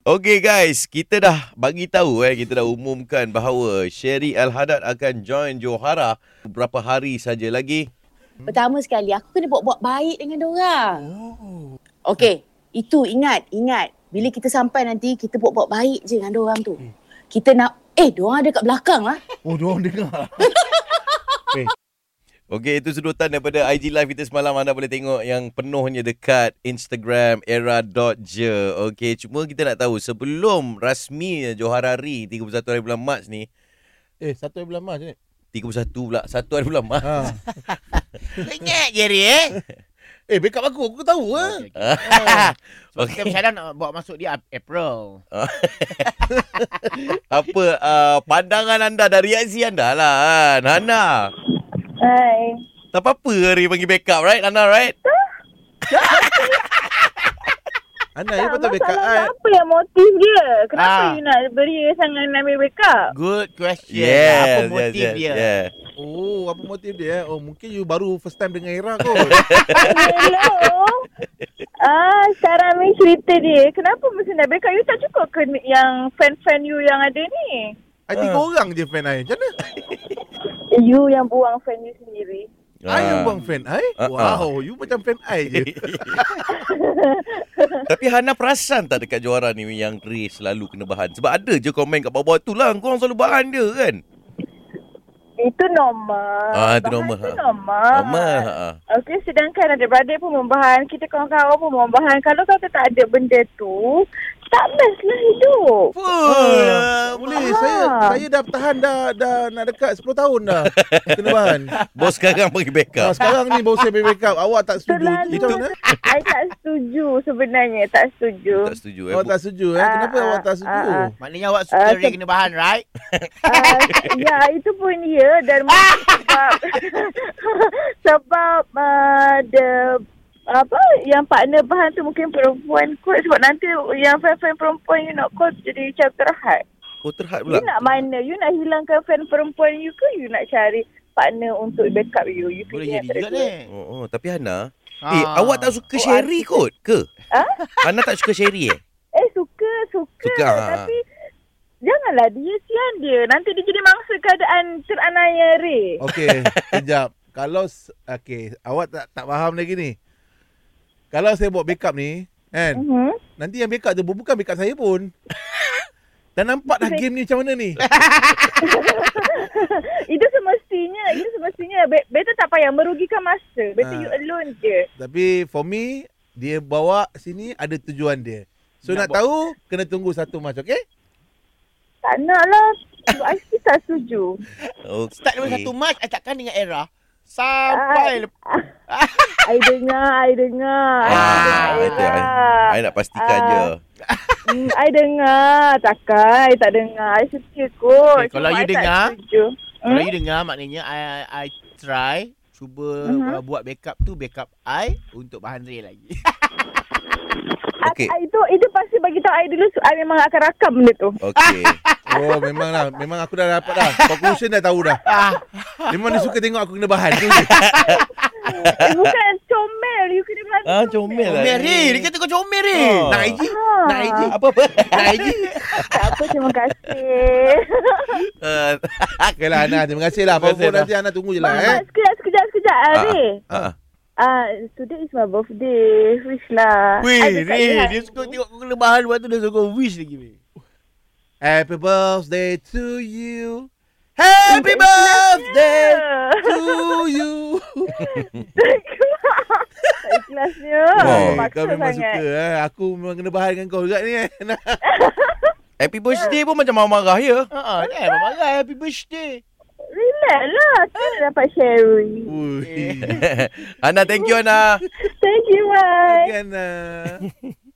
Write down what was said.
Okay guys, kita dah bagi tahu kita dah umumkan bahawa Sherry Al-Haddad akan join Johara beberapa hari saja lagi. Pertama sekali, aku kena buat-buat baik dengan diorang. Okey, itu ingat. Bila kita sampai nanti, kita buat-buat baik je dengan diorang tu. Kita nak, diorang ada kat belakang lah. Oh, diorang dengar. Okey, itu sedutan daripada IG Live kita semalam. Anda boleh tengok yang penuhnya dekat Instagram era.je. Okey, cuma kita nak tahu sebelum rasmi Johara Ri 31 hari bulan Mac ni. 1 hari bulan Mac ni. 31 pula, 1 hari bulan Mac. Ingat je Ri Backup aku tahu Okay. So kita macam nak bawa masuk dia April. Apa pandangan anda dan reaksi anda lah kan? Hana. Hai. Tak apa-apa Ri panggil backup, right? Hana, right? Ana, you patut backup. Apa yang motif dia? Kenapa you nak beri sangat ambil backup? Good question. Yes, Apa motif yes, dia? yes. Oh, apa motif dia? Oh, mungkin you baru first time dengan Era kot. Hello. Sekarang ni cerita dia. Kenapa mesti nak backup? You tak cukup ke yang fan-fan you yang ada ni? I 3 orang je fan I. Macam mana? You yang buang fan you sendiri. I yang buang fan I? Wow, you macam fan I je. Tapi Hana perasan tak dekat Johara ni yang Ri selalu kena bahan? Sebab ada je komen kat bawah-bawah tu lah. Korang selalu bahan dia kan? Itu normal. Itu normal. Itu normal. Okey, sedangkan adik-beradik pun membahan. Kita kawan-kawan pun membahan. Kalau kau tak ada benda tu, tak best lah hidup. Boleh. Saya dah tahan dah nak dekat 10 tahun dah. Kena bahan. Bos sekarang pergi backup. Sekarang ni bos saya pergi backup. Awak tak setuju. Itu mana? I tak setuju sebenarnya. Tak setuju. Tak setuju Awak tak setuju Kenapa awak tak setuju? Maknanya awak suka Ri kena bahan, right? Ya, itu pun dia. Dan sebab yang partner bahan tu mungkin perempuan kot. Sebab nanti yang fan-fan perempuan you nak call jadi macam terhad. Oh, terhad pula. You nak mana? You nak hilangkan fan perempuan you ke? You nak cari partner untuk backup you? You Boleh jadi juga ni. Tapi Hana, awak tak suka Sherry kot ke? Hana tak suka Sherry Suka. Suka. Tapi janganlah dia sian dia. Nanti dia jadi mangsa keadaan teranaya Ray. Okey, sekejap. Kalau awak tak faham lagi ni. Kalau saya buat backup ni, kan? Nanti yang backup tu bukan backup saya pun. Dan nampak dah game ni macam mana ni? Itu semestinya better tak payah merugikan masa. Better you alone je. Tapi for me, dia bawa sini ada tujuan dia. So nak tahu, kena tunggu 1 Mac, okey? Tak nak lah. I still tak setuju. Start dengan 1 Mac, I takkan dengan Era. Sampai I dengar. I nak pastikan je. I dengar. Takkan I tak dengar. I setia kot. Kalau you dengar, Kalau you dengar, maknanya I try cuba buat backup tu, backup I untuk bahan Ri lagi. Okey. Itu pasti bagi tahu I dulu. I memang akan rakam benda tu. Okey. Oh, memang lah. Memang aku dah dapat dah. Conclusion dah tahu dah. Memang dia suka tengok aku kena bahan tu je. Bukan comel. You kena belajar Comel lah. Comel Ri, dia kata kau comel Ri. Nak IG? Nak IG? Apa? Nak IG? Tak apa, terima kasih. Okay lah, Ana. Terima kasih lah. Apa-apa nanti Ana tunggu je lah. Sekejap, Ri. Today is my birthday. Wish lah. Weh, Ri, dia suka tengok kau kena bahan, lepas tu dia suka wish lagi weh. Happy birthday to you. Happy birthday to you. Ikhlasnya. Kau memang suka. Aku memang kena bahan dengan kau juga ni. Happy birthday pun macam marah-marah ya. Marah happy birthday. Relax lah. Kita dapat sharing. Hana, thank you Hana. Thank you, bye. Ana.